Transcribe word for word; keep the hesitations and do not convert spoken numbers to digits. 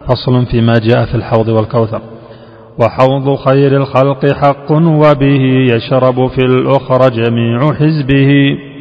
فصل فيما جاء في الحوض والكوثر. وحوض خير الخلق حق وبه يشرب في الأخرى جميع حزبه